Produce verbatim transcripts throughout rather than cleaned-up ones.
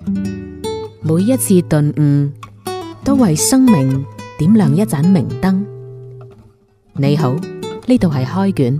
每一次頓悟，都為生命點亮一盞明燈。你好，呢度係開卷。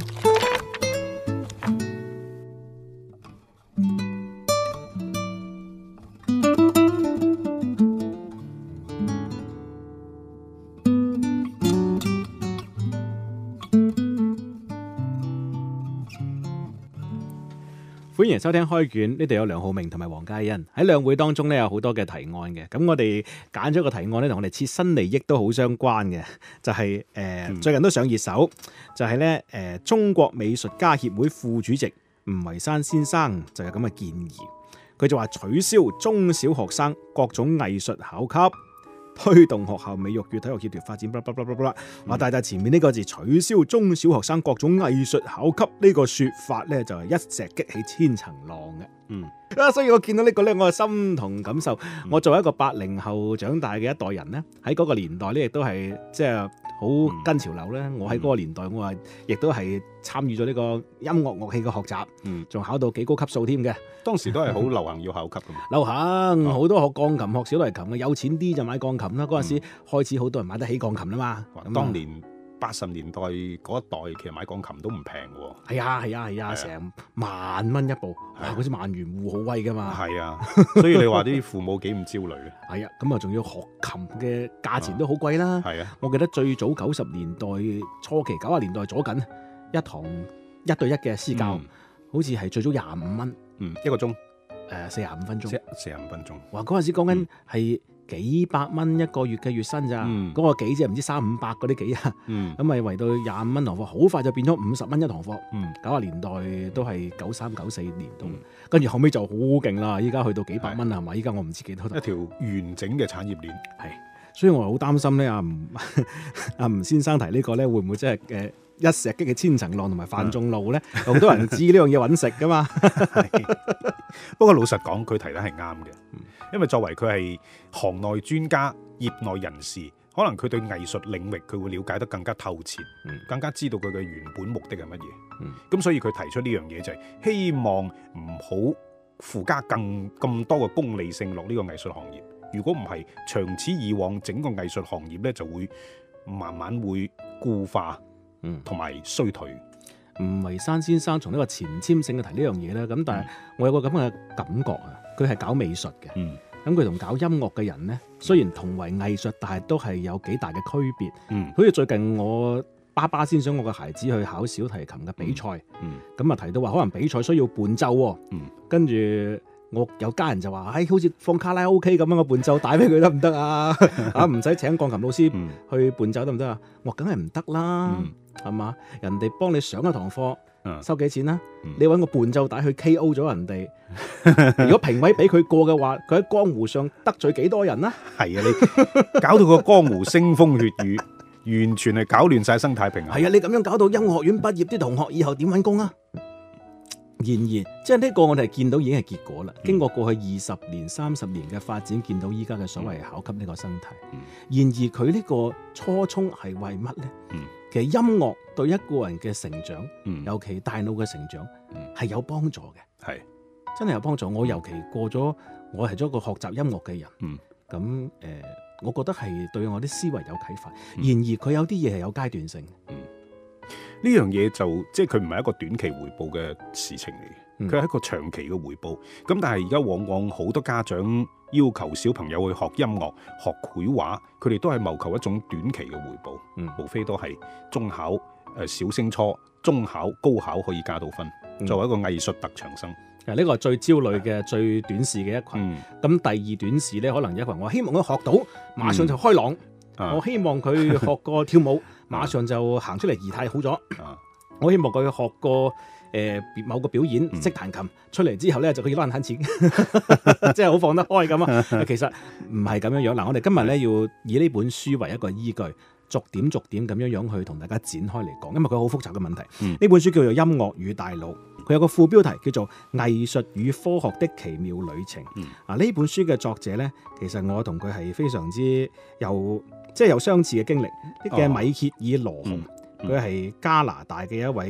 歡迎收聽開卷，呢度有梁浩明同埋黃嘉欣。喺兩會當中咧，有好多嘅提案嘅，咁我哋揀咗個提案咧，同我哋切身利益都好相關嘅，就係、是、誒、呃嗯、最近都上熱搜，就係咧誒中國美術家協會副主席吳維山先生就有咁嘅建議，佢就話取消中小學生各種藝術考級，推動學校美育與體育協調發展，blah blah blah blah blah。話但係前面呢個字取消中小學生各種藝術考級呢個說法咧，就係一石激起千層浪嘅。嗯啊，所以我見到呢個咧，我係心同感受。嗯、我作為一個八零後長大嘅一代人咧，喺嗰個年代咧，亦都係即係好跟潮流咧。嗯、我喺嗰個年代，我係亦都係參與咗呢個音樂樂器嘅學習，嗯，仲考到幾高級數添嘅。 當時都係好流行要考級嘅嘛， 流行好、哦、多學鋼琴、學小提琴嘅，有錢啲就買鋼琴啦。嗰陣時開始好多人買得起鋼琴啦嘛。 嗯、當年八十年代嗰一代，其實買鋼琴都唔平喎。 係啊係啊係啊，成、啊啊、萬蚊一部，哇！嗰啲萬元戶好威噶嘛。係啊， 所以你話啲父母幾唔焦慮嘅。 係啊，咁啊仲要學琴嘅價錢都好貴啦。係啊，我記得最早九十年代初期、九十年代左緊一堂一對一嘅私教，嗯、好似係最早廿五蚊， 嗯，一個鐘， 誒四十五分鐘， 四十五分鐘。 哇！嗰陣時講緊係幾百蚊一個月嘅月薪咋，嗰、嗯、個幾即係唔知三五百嗰啲幾啊，咁咪圍到廿五蚊堂課，好快就變咗五十蚊一堂課。九十、嗯、年代都係九三九四年度，跟住、嗯、後尾就好勁啦，依家去到幾百蚊係嘛？依家我唔知幾多。 一條完整嘅產業鏈係，所以我好擔心咧。阿吳阿吳先生提個呢個咧，會唔會即係誒一石激起千層浪，同埋犯眾怒咧？好、嗯、多人知呢樣嘢揾食噶嘛。 不過老實講，佢提得係啱嘅。因為作為佢係行內專家、業內人士，可能佢對藝術領域佢會了解得更加透徹，嗯、更加知道佢嘅原本目的係乜嘢。咁、嗯、所以佢提出呢樣嘢就係希望唔好附加更咁多嘅功利性落呢個藝術行業。如果唔係，長此以往，整個藝術行業咧就會慢慢會固化，同埋、嗯、衰退。 吳維山先生從呢個前瞻性嘅提呢樣嘢咧，咁但係我有個咁嘅感覺啊。佢係搞美術嘅，咁佢同搞音樂嘅人咧，雖然同為藝術，但係都係有幾大嘅區別。嗯，好似最近我爸爸先想我個孩子去考小提琴嘅比賽，咁啊、嗯、提到話可能比賽需要伴奏，嗯、跟住我有家人就話，唉、哎，好似放卡拉 OK 咁樣個伴奏帶俾佢得唔得啊？啊，唔使請鋼琴老師去伴奏得唔得啊？我梗係唔得啦，係嘛、嗯？人哋幫你上一堂課。收幾錢啦？嗯、你揾個伴奏帶去 K O 咗人哋，如果評委俾佢過嘅話，佢喺江湖上得罪幾多人啦？係啊，你搞到個江湖腥風血雨，完全係搞亂晒生態平衡。係啊，你咁樣搞到音樂學院畢業啲同學以後點揾工啊？然而，即係呢個我哋見到已經係結果啦。嗯、經過過去二十年、三十年嘅發展，見到依家嘅所謂考級呢個生態。嗯、然而佢呢個初衷係為乜呢？嗯、其實音樂對一個人嘅成長，嗯、尤其大腦嘅成長，係、嗯、有幫助嘅。係真係有幫助。我尤其過咗，我係咗一個學習音樂嘅人。咁誒、嗯呃，我覺得係對我啲思維有啟發。嗯、然而佢有啲嘢係有階段性。嗯呢樣嘢就即係佢唔係一個短期回報嘅事情嚟嘅，佢係、嗯、一個長期嘅回報。咁但係而家往往好多家長要求小朋友去學音樂、學繪畫，佢哋都係謀求一種短期嘅回報。嗯，無非都係中考、誒、呃、小升初、中考、高考可以加到分，嗯、作為一個藝術特長生。 呢個係最焦慮嘅、最短視嘅一群。咁、嗯、第二短視咧，可能一群我希望佢學到，馬上就開朗。嗯啊、我希望佢學過跳舞。馬上就行出嚟儀態好咗，啊、我希望佢學過誒、呃、某個表演識彈琴，出嚟之後咧就可以攞人慳錢，即係好放得開咁啊！其實唔係咁樣樣。嗱，我哋今日咧要以呢本書為一個依據，逐點逐點咁樣樣去同大家展開嚟講，因為佢好複雜嘅問題。呢、嗯、本書叫做《音樂與大腦》，佢有個副標題叫做《藝術與科學的奇妙旅程》。嗯、啊，呢本書嘅作者咧，其實我同佢係非常之有。即係有相似嘅經歷，嘅、哦、米歇爾羅雄，佢係、嗯嗯、加拿大嘅一位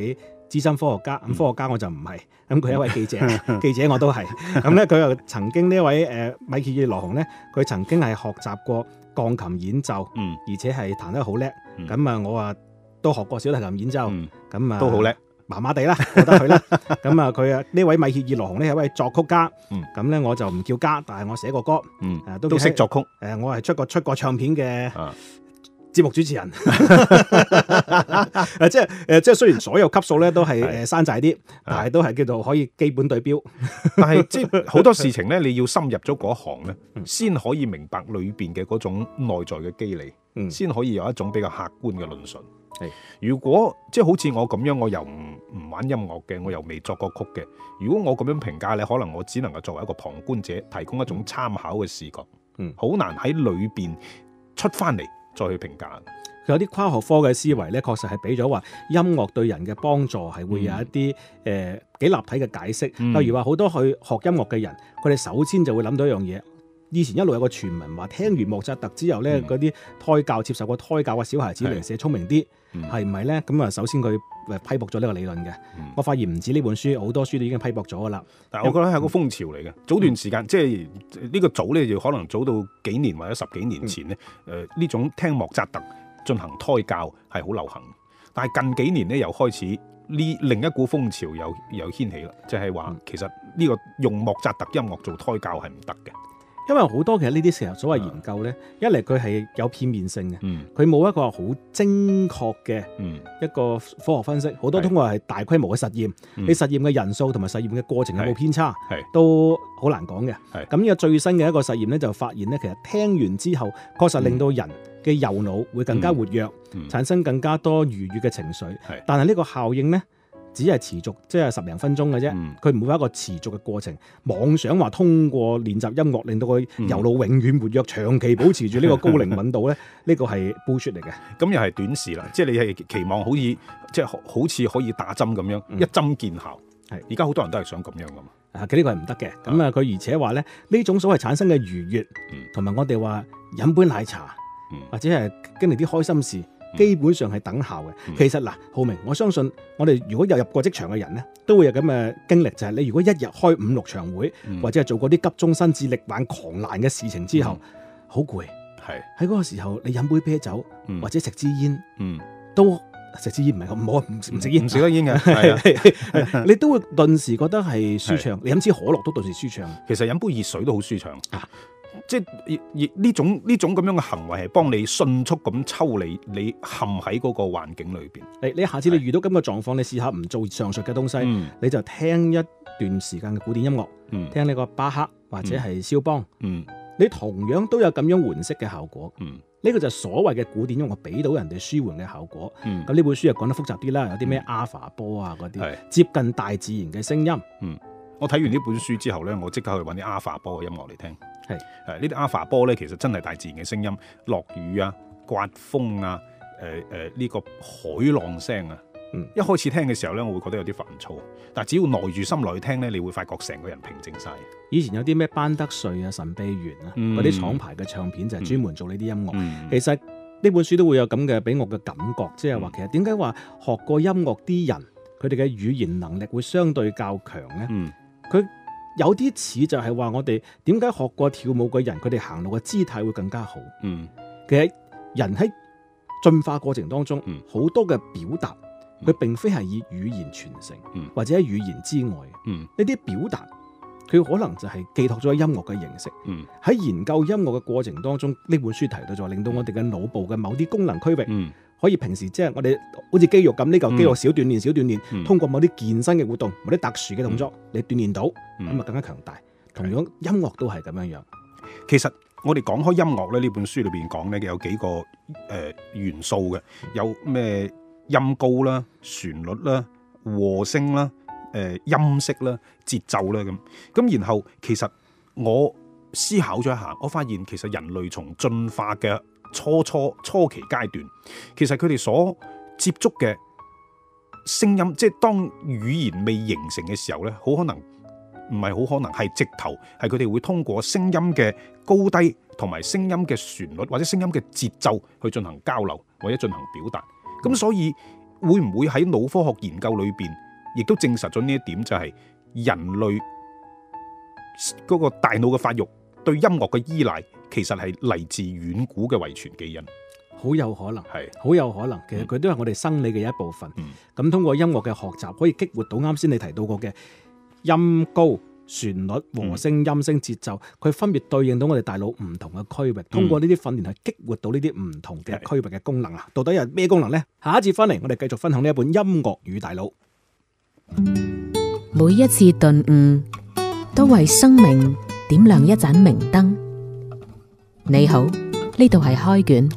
資深科學家，咁科學家我就唔係，咁佢係一位記者，記者我都係。咁咧佢又曾經呢位誒米歇爾羅雄咧，佢曾經係學習過鋼琴演奏， 嗯， 而且係彈得好叻。咁啊、 嗯， 我啊都學過小提琴演奏，咁啊、 嗯、都好叻。 麻麻地啦，覺得佢啦。咁啊，佢啊呢位米歇爾羅雄呢係一位作曲家。咁咧、嗯、我就唔叫家，但係我寫過歌。 嗯， 誒都識作曲。 誒，我係出過出過唱片嘅啊節目主持人。誒，即係誒，即係雖然所有級數咧都係誒山寨啲，但係都係叫做可以基本對標。 但係即係好多事情咧，你要深入咗嗰行咧，先可以明白裏邊嘅嗰種內在嘅機理，先、嗯、可以有一種比較客觀嘅論述。係，如果即係好似我咁樣，我又唔唔玩音樂嘅，我又未作過曲嘅。如果我咁樣評價咧，可能我只能夠作為一個旁觀者，提供一種參考嘅視覺。嗯，好難喺裏邊出翻嚟再去評價。 佢有啲跨學科嘅思維咧，確實係俾咗話音樂對人嘅幫助係會有一啲誒幾立體嘅解釋。嗯、例如話好多去學音樂嘅人，佢哋首先就會諗到一樣嘢。以前一路有個傳聞話，聽完莫扎特之後咧，嗰啲、嗯、胎教接受過胎教嘅小孩子零舍聰明啲，係唔係咧？咁啊，首先佢誒批駁咗呢個理論嘅。嗯、我發現唔止呢本書，好多書都已經批駁咗噶啦。 但係我覺得係個風潮嚟嘅。嗯、早段時間即係呢個早咧，就可能早到幾年或者十幾年前咧，誒呢、嗯呃、種聽莫扎特進行胎教係好流行。但係近幾年咧，又開始呢另一股風潮又又掀起啦，就係、是、話其實呢個用莫扎特音樂做胎教係唔得嘅。 因為好多其實呢啲時候所謂研究咧，一嚟佢係有片面性嘅，佢冇、嗯、一個好精確嘅一個科學分析，好、嗯、多通過係大規模嘅實驗，嗯、你實驗嘅人數同埋實驗嘅過程有冇偏差，都好難講嘅。咁呢個最新嘅一個實驗咧，就發現咧，其實聽完之後，確實令到人嘅右腦會更加活躍，嗯嗯、產生更加多愉悅嘅情緒。嗯、但係呢個效應咧，只係持續即係十零分鐘嘅啫，佢唔、嗯、會有一個持續嘅過程。妄想話通過練習音樂令到佢右腦永遠活躍，嗯、長期保持住呢個高靈敏度咧，呢個係 bullshit 嚟嘅。咁又係短視啦，即係你係期望好似即係好似可以打針咁樣，嗯、一針見效。係而家好多人都係想咁樣噶嘛。啊，佢呢個係唔得嘅。咁啊，佢而且話咧，呢種所謂產生嘅愉悅，同埋、嗯、我哋話飲杯奶茶，嗯、或者係經歷啲開心事。基本上係等效嘅。嗯、其實嗱，浩明，我相信我哋如果有入過職場嘅人咧，都會有咁嘅經歷，就係、是、你如果一日開五六場會，嗯、或者係做過啲急中生智、力挽狂瀾嘅事情之後，好攰、嗯。係喺嗰個時候，你飲杯啤酒、嗯、或者食支煙，嗯、都食支煙唔係咁好，唔唔食煙唔食得煙嘅，你都會頓時覺得係舒暢。是你飲支可樂都頓時舒暢。其實飲杯熱水都好舒暢啊！即係呢種呢種咁樣嘅行為係幫你迅速咁抽離你陷喺嗰個環境裏邊。你你下次你遇到咁嘅狀況，你試下唔做上述嘅東西，嗯、你就聽一段時間嘅古典音樂，嗯、聽呢個巴赫或者係肖邦，嗯、你同樣都有咁樣緩釋嘅效果。呢、嗯、個就係所謂嘅古典音樂俾到人哋舒緩嘅效果。咁呢、嗯、本書又講得複雜啲啦，有啲咩阿法波啊嗰啲，嗯、接近大自然嘅聲音。嗯、我睇完呢本書之後呢，我即刻去揾啲阿法波嘅音樂嚟聽。係誒，呢啲阿法波咧，其實真係大自然嘅聲音，落雨啊、刮風啊、誒誒呢個海浪聲啊。嗯，一開始聽嘅時候咧，我會覺得有啲煩躁，但係只要耐住心來聽咧，你會發覺成個人平靜晒。以前有啲咩班德瑞啊、神秘園啊嗰啲廠牌嘅唱片就係專門做呢啲音樂。嗯、其實呢本書都會有咁嘅俾我嘅感覺，即係話其實點解話學過音樂啲人，佢哋嘅語言能力會相對較強咧？嗯，佢。有啲似就係話我哋點解學過跳舞嘅人，佢哋行路嘅姿態會更加好。嗯，其實人喺進化過程當中，好、嗯、多嘅表達，佢、嗯、並非係以語言傳承，嗯、或者喺語言之外。嗯，呢啲表達，佢可能就係寄託咗音樂嘅形式。嗯，喺研究音樂嘅過程當中，呢本書提到就令到我哋嘅腦部嘅某啲功能區域。嗯可以平時即係我哋好似肌肉咁，呢嚿肌肉少鍛煉少鍛煉，嗯、通過某啲健身嘅活動，某啲特殊嘅動作，嗯、你鍛煉到，咁啊、嗯、更加強大。同樣音樂都係咁樣樣。其實我哋講開音樂咧，呢本書裏邊講咧有幾個誒、呃、元素嘅，有咩音高啦、旋律啦、和聲啦、誒、呃、音色啦、節奏啦咁。咁然後其實我思考咗一下，我發現其實人類從進化嘅初初初期階段，其實佢哋所接觸嘅聲音，即係當語言未形成嘅時候咧，好可能唔係好可能係直頭係佢哋會通過聲音嘅高低同埋聲音嘅旋律或者聲音嘅節奏去進行交流或者進行表達。咁所以會唔會喺腦科學研究裏邊，亦都證實咗呢一點，就係人類嗰個大腦嘅發育對音樂嘅依賴，其實係嚟自遠古嘅遺傳基因。 好有可能， 係好有可能。其實佢都係我哋生理嘅一部分。咁、嗯、通過音樂嘅學習，可以激活到啱先你提到過嘅音高、旋律、和聲、音聲、節奏，佢分別對應到我哋大腦唔同嘅區域。通過呢啲訓練，去激活到呢啲唔同嘅區域嘅功能啊！到底有咩功能呢？下一節翻嚟，我哋繼續分享呢一本《音樂與大腦》。 每一次頓悟，都為生命點亮一盞明燈。你好，呢度係開卷。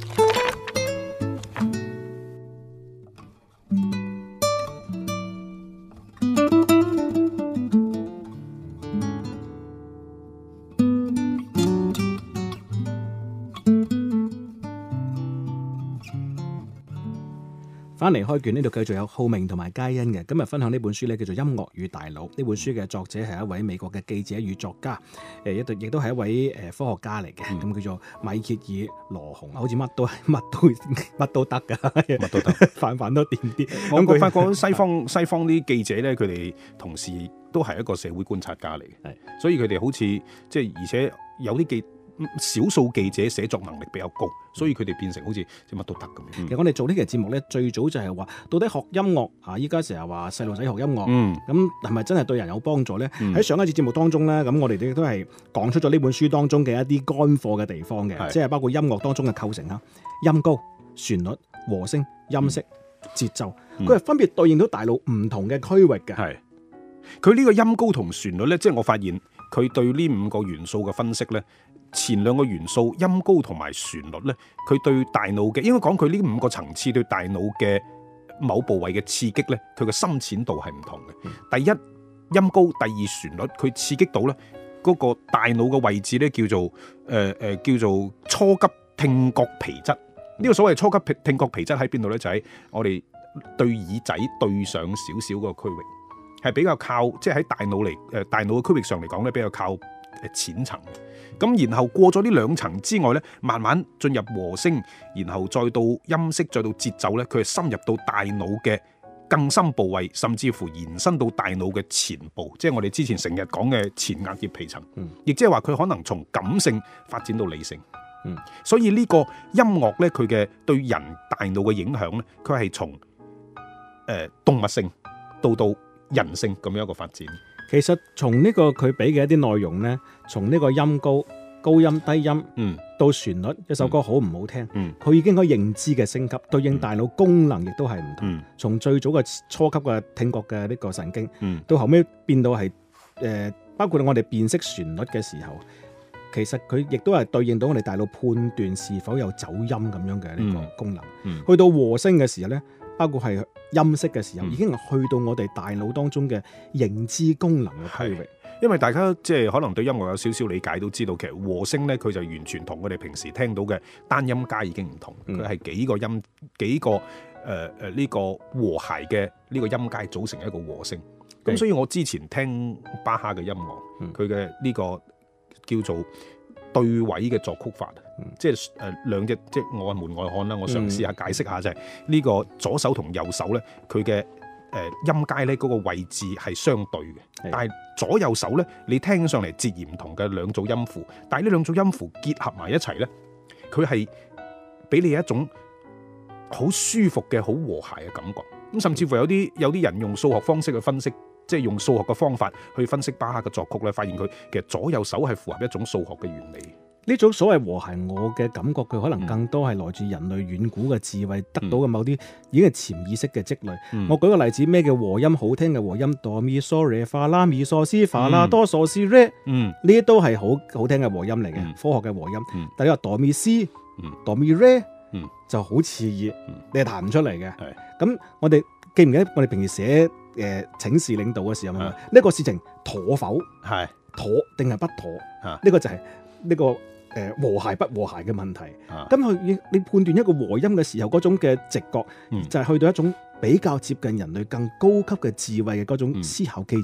翻嚟開卷，呢度繼續有浩明同埋佳欣嘅。今日分享呢本書咧，叫做《音樂與大腦》。呢本書嘅作者係一位美國嘅記者與作家，誒一對亦都係一位誒科學家嚟嘅。咁、嗯、叫做米歇爾羅雄，好似乜都乜都乜都得噶，乜都得，泛泛都掂啲。 我我發覺西方西方啲記者咧，佢哋同時都係一個社會觀察家嚟嘅，所以佢哋好似即係而且有啲記。少數記者寫作能力比較高，所以佢哋變成好似即乜都得咁樣。 其實我哋做呢期節目咧，最早就係話到底學音樂啊，依家成日話細路仔學音樂，咁係咪真係對人有幫助咧？喺、嗯、上一次節目當中咧，咁我哋亦都係講出咗呢本書當中嘅一啲乾貨嘅地方嘅，即係包括音樂當中嘅構成啊，音高、旋律、和聲、音色、嗯、節奏，佢、嗯、係分別對應到大腦唔同嘅區域嘅。係佢呢個音高同旋律咧，即係我發現佢對呢五個元素嘅分析咧。前兩個元素音高同埋旋律咧，佢對大腦嘅應該講佢呢五個層次對大腦嘅某部位嘅刺激咧，佢嘅深淺度係唔同嘅、嗯。第一音高，第二旋律，佢刺激到咧嗰個大腦嘅位置咧叫做誒誒、呃、叫做初級聽覺皮質。呢、嗯、個所謂初級聽覺皮質喺邊度咧？就喺、是、我哋對耳仔對上少少個區域，係比較靠即係喺大腦嚟誒大腦嘅區域上嚟講咧比較靠誒淺層。咁然後過咗呢兩層之外咧，慢慢進入和聲，然後再到音色，再到節奏咧，佢係深入到大腦嘅更深部位，甚至乎延伸到大腦嘅前部，即係我哋之前成日講嘅前額葉皮層。嗯，亦即係話佢可能從感性發展到理性。嗯，所以呢個音樂咧，佢嘅對人大腦嘅影響咧，佢係從誒動物性到到人性咁樣一個發展。 其實從呢個佢俾嘅一啲內容呢，從呢個音高、高音、低音，嗯，到旋律，一首歌好唔好聽，嗯，佢已經可以認知嘅升級，對應大腦功能亦都係唔同。嗯、從最早嘅初級嘅聽覺嘅呢個神經，嗯，到後尾變到係誒、呃，包括我哋辨識旋律嘅時候，其實佢亦都係對應到我哋大腦判斷是否有走音咁樣嘅呢個功能。嗯嗯、去到和聲嘅時候呢，包括係音色嘅時候，已經係去到我哋大腦當中嘅認知功能嘅區域。 因為大家即係可能對音樂有少少理解，都知道其實和聲咧，佢就完全同我哋平時聽到嘅單音階已經唔同。佢、嗯、係幾個音幾個誒誒呢個和諧嘅呢個音階組成一個和聲。咁所以我之前聽巴哈嘅音樂，佢嘅呢個叫做對位嘅作曲法，嗯、即係誒兩隻即係我係門外漢啦。我嘗試下解釋下、嗯、就係、是、呢個左手同右手咧，佢嘅誒音階咧嗰個位置係相對嘅，但係左右手咧，你聽上嚟截然唔同嘅兩組音符，但係呢兩組音符結合埋一齊咧，佢係俾你一種好舒服嘅好和諧嘅感覺。咁甚至乎有啲有啲人用數學方式去分析。即係用數學嘅方法去分析巴哈嘅作曲咧，發現佢其實左右手係符合一種數學嘅原理。 呢種所謂和諧，我嘅感覺佢可能更多係來自人類遠古嘅智慧、嗯、得到嘅某啲已經係潛意識嘅積累。嗯、我舉個例子，咩叫和音？好聽嘅和音，哆咪嗦唻發啦咪嗦西發啦哆嗦西唻，呢啲都係好好聽嘅和音嚟嘅、嗯，科學嘅和音。嗯、但係你話哆咪西、哆咪唻，就好似熱，你係彈唔出嚟嘅。咁我哋記唔記得我哋平時寫誒、呃、請示領導嘅時候，呢、這個事情妥否？係妥定係不妥？呢、這個就係呢、這個誒、呃、和諧不和諧嘅問題。咁佢你判斷一個和音嘅時候，嗰種嘅直覺、嗯、就係、是、去到一種比較接近人類更高級嘅智慧嘅嗰種思考機制。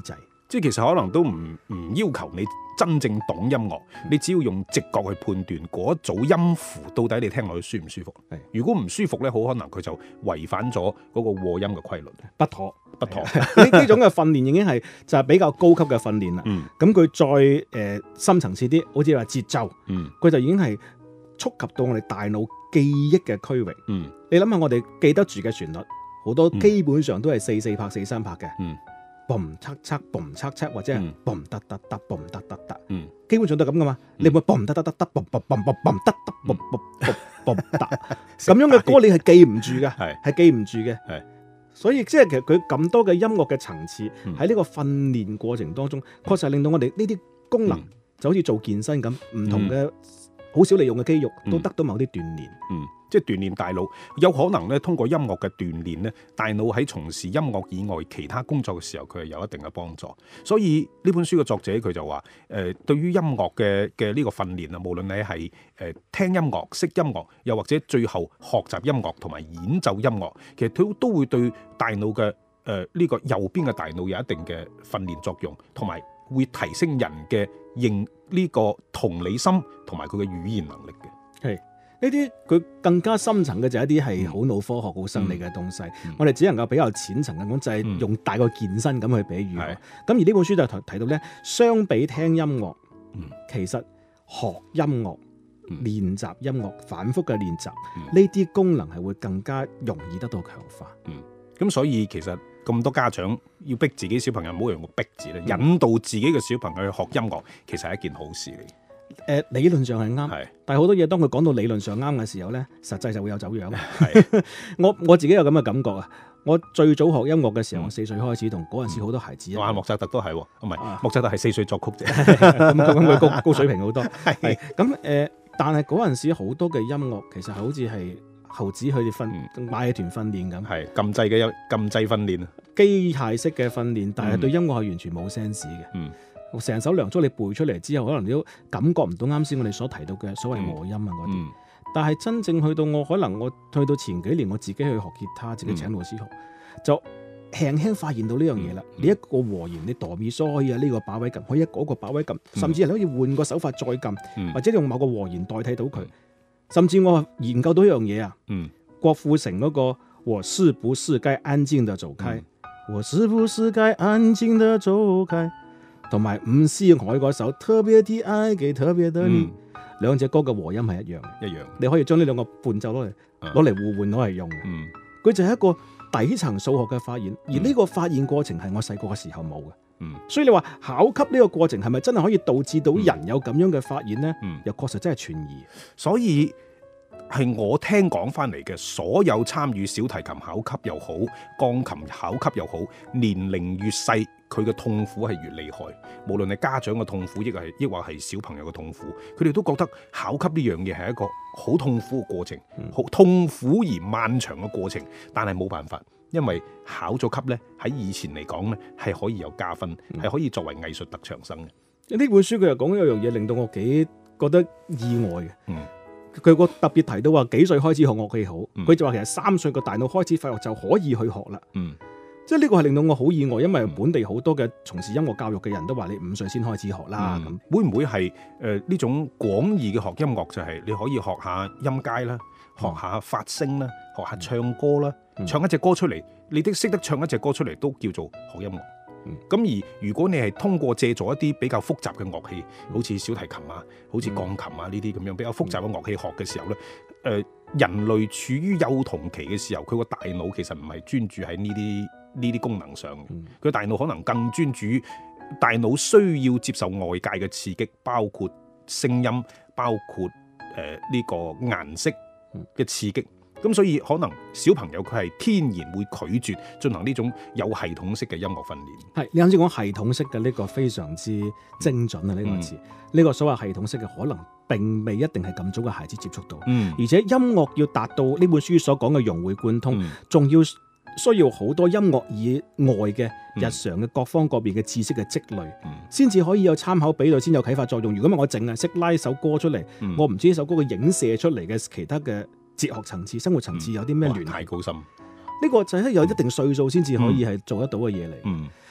即係其實可能都唔唔要求你真正懂音樂，你只要用直覺去判斷嗰一組音符到底你聽落去舒唔舒服。如果唔舒服咧，好可能佢就違反咗嗰個和音嘅規律，不妥不妥。 呢呢種嘅訓練已經係就係比較高級嘅訓練啦。咁佢、嗯、再誒、呃、深層次啲，好似話節奏，佢、嗯、就已經係觸及到我哋大腦記憶嘅區域。嗯、你諗下，我哋記得住嘅旋律，好多基本上都係四四拍、四三拍嘅。嗯嘣測測嘣測測或者係嘣得得得嘣得得得，基本上都係咁噶嘛。你會嘣得得得得嘣嘣嘣嘣嘣得得嘣嘣嘣嘣得，咁樣嘅歌你係記唔住嘅，係係記唔住嘅。係，所以即係其實佢咁多嘅音樂嘅層次喺呢個訓練過程當中，確實係令到我哋呢啲功能就好似做健身咁，唔同嘅好少利用嘅肌肉都得到某啲鍛煉。 嗯。即係鍛鍊大腦，有可能咧通過音樂嘅鍛鍊咧，大腦喺從事音樂以外其他工作嘅時候，佢係有一定嘅幫助。所以呢本書嘅作者佢就話：誒、呃，對於音樂嘅嘅呢個訓練啊，無論你係誒、呃、聽音樂、識音樂，又或者最後學習音樂同埋演奏音樂，其實都都會對大腦嘅誒呢個右邊嘅大腦有一定嘅訓練作用，同埋會提升人嘅認呢個同理心同埋佢嘅語言能力嘅。係。 呢啲佢更加深層嘅就係一啲係好腦科學、好生理嘅東西，嗯、我哋只能夠比較淺層嘅講，就係、是、用大個健身咁去比喻。咁、嗯、而呢本書就提到咧，相比聽音樂，嗯、其實學音樂、嗯、練習音樂、反覆嘅練習，呢啲、嗯、功能係會更加容易得到強化。 咁、嗯、所以其實咁多家長要逼自己小朋友，唔好用個逼字咧，嗯、引導自己嘅小朋友去學音樂，其實係一件好事嚟。 誒、呃、理論上係啱，是但係好多嘢當佢講到理論上啱嘅時候咧，實際就會有走樣。是我我自己有咁嘅感覺啊！我最早學音樂嘅時候，嗯、我四歲開始，同嗰陣時好多孩子。 哇！莫扎特都係，唔係、啊、莫扎特係四歲作曲啫。 咁咁佢高高水平好多。係咁誒，但係嗰陣時好多嘅音樂其實好似係猴子佢哋訓馬戲團訓練咁， 係禁制嘅禁制訓練啊， 機械式嘅訓練，但係對音樂係完全冇 sense 嘅。嗯。成首梁祝你背出嚟之後，可能你都感覺唔到啱先我哋所提到嘅所謂和音啊嗰啲。嗯嗯、但係真正去到我可能我去到前幾年我自己去學吉他，自己請老師學，嗯、就輕輕發現到呢樣嘢啦。嗯、你一個和弦，你哆咪嗦可以喺呢個把位撳，可以喺嗰個把位撳，嗯、甚至係你可以換個手法再撳，嗯、或者用某個和弦代替到佢。嗯、甚至我研究到一樣嘢啊，嗯、郭富城嗰個我是不是該安靜地走開，嗯、我是不是該安靜地走開。同埋伍思凱嗰首特別的愛給特別的你，兩隻歌嘅和音係一樣，一樣。你可以將呢兩個伴奏攞嚟攞嚟互換攞嚟用。嗯，佢就係一個底層數學嘅發現，而呢個發現過程係我細個嘅時候冇嘅。嗯，所以你話考級呢個過程係咪真係可以導致到人有咁樣嘅發現呢？嗯，又確實真係存疑。 所以係我聽講翻嚟嘅，所有參與小提琴考級又好，鋼琴考級又好，年齡越細，佢嘅痛苦係越厲害。無論係家長嘅痛苦，亦係亦或係小朋友嘅痛苦，佢哋都覺得考級呢樣嘢係一個好痛苦嘅過程，好、嗯、痛苦而漫長嘅過程。但係冇辦法，因為考咗級呢，喺以前嚟講呢，係可以有加分，係、嗯、可以作為藝術特長生嘅。呢、 嗯、本書佢又講一樣嘢，令到我幾覺得意外嘅。嗯。佢個特別提到話幾歲開始學樂器好，佢、嗯、就話其實三歲個大腦開始發育就可以去學啦。嗯，即係呢個係令到我好意外，因為本地好多嘅從事音樂教育嘅人都話你五歲先開始學啦。咁、嗯、 會唔會係誒呢種廣義嘅學音樂就係你可以學下音階啦，學下發聲啦，學下唱歌啦，嗯、唱一隻歌出嚟，你都識得唱一隻歌出嚟都叫做學音樂。咁、嗯、而如果你係通過借助一啲比較複雜嘅樂器，好似小提琴啊，好似鋼琴啊呢啲咁樣比較複雜嘅樂器學嘅時候咧，誒、呃、人類處於幼童期嘅時候，佢個大腦其實唔係專注喺呢啲呢啲功能上嘅，佢、嗯、大腦可能更專注於大腦需要接受外界嘅刺激，包括聲音，包括誒呢、呃這個顏色嘅刺激。咁所以可能小朋友佢係天然會拒絕進行呢種有系統式嘅音樂訓練。 係你啱先講系統式嘅呢個非常之精準啊！呢、嗯、個詞，呢、呢個所謂系統式嘅可能並未一定係咁早嘅孩子接觸到。嗯，而且音樂要達到呢本書所講嘅融會貫通，仲、嗯、要需要好多音樂以外嘅日常嘅各方各面嘅知識嘅積累，先至、嗯、可以有參考比對，先有啟發作用。如果唔係我淨係識拉首歌出嚟，嗯、我唔知呢首歌嘅影射出嚟嘅其他嘅哲學層次、生活層次有啲咩聯繫？ 太高深， 呢個就係有一定歲數先至可以係做得到嘅嘢嚟。嗯，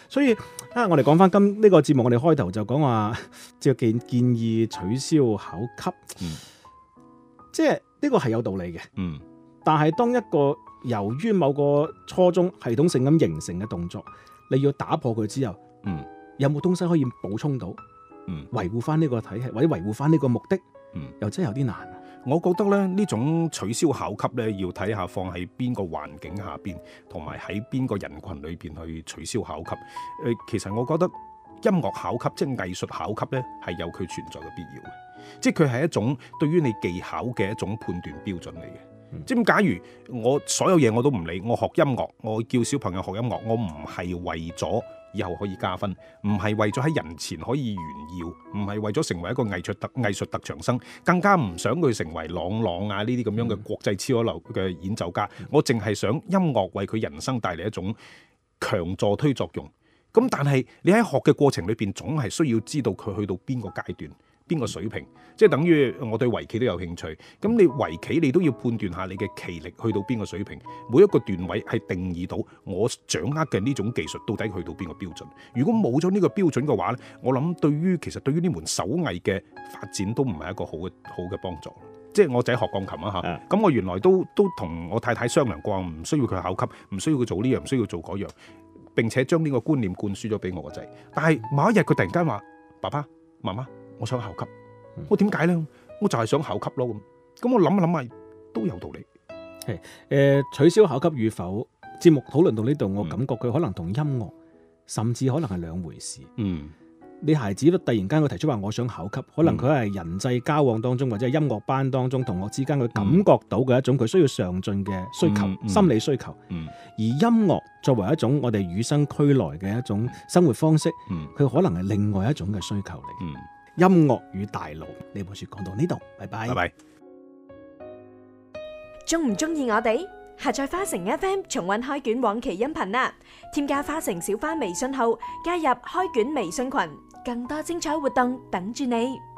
所以啊，我哋講翻今呢個節目，我哋開頭就講話即係建建議取消考級， 嗯、 即係呢個係有道理嘅。 嗯， 但係當一個由於某個初衷系統性咁形成嘅動作，你要打破佢之後， 嗯， 有冇東西可以補充到？ 嗯， 維護翻呢個體系或者維護翻呢個目的， 嗯， 又真係有啲難。 我覺得咧呢種取消考級咧，要睇下放喺邊個環境下邊，同埋喺邊個人群裏邊去取消考級。誒、呃，其實我覺得音樂考級即係藝術考級咧，係有佢存在嘅必要嘅，即係佢係一種對於你技巧嘅一種判斷標準嚟嘅。嗯、即係假如我所有嘢我都唔理，我學音樂，我叫小朋友學音樂，我唔係為咗以後可以加分，唔係為咗喺人前可以炫耀，唔係為咗成為一個藝術特藝術特長生，更加唔想佢成為朗朗啊呢啲咁樣嘅國際超一流嘅演奏家。嗯、我淨係想音樂為佢人生帶嚟一種強助推作用。咁但係你喺學嘅過程裏邊，總係需要知道佢去到邊個階段，邊個水平，即係等於我對圍棋都有興趣。咁你圍棋你都要判斷下你嘅棋力去到邊個水平，每一個段位係定義到我掌握嘅呢種技術到底去到邊個標準。如果冇咗呢個標準嘅話咧，我諗對於其實對於呢門手藝嘅發展都唔係一個好嘅好嘅幫助。即係我仔學鋼琴啊嚇，咁、嗯、我原來都都同我太太商量過，唔需要佢考級，唔需要佢做呢樣，唔需要做嗰樣，並且將呢個觀念灌輸咗俾我個仔。但係某一日佢突然間話：爸爸媽媽，我想考級。我點解咧？我就係想考級咯。咁咁我諗一諗下都有道理。 係誒、呃，取消考級與否，節目討論到呢度，我感覺佢可能同音樂、嗯、甚至可能係兩回事。嗯，你孩子都突然間佢提出話我想考級，可能佢係人際交往當中或者係音樂班當中同學之間佢感覺到嘅一種佢需要上進嘅需求、嗯嗯、心理需求。嗯，而音樂作為一種我哋與生俱來嘅一種生活方式，嗯，佢可能係另外一種嘅需求嚟。嗯。音樂與大腦呢本書講到呢度，拜拜。拜拜。 中唔中意我哋？下載花城 F M 重溫開卷往期音頻啦！添加花城小花微信號，加入開卷微信群，更多精彩活動等住你。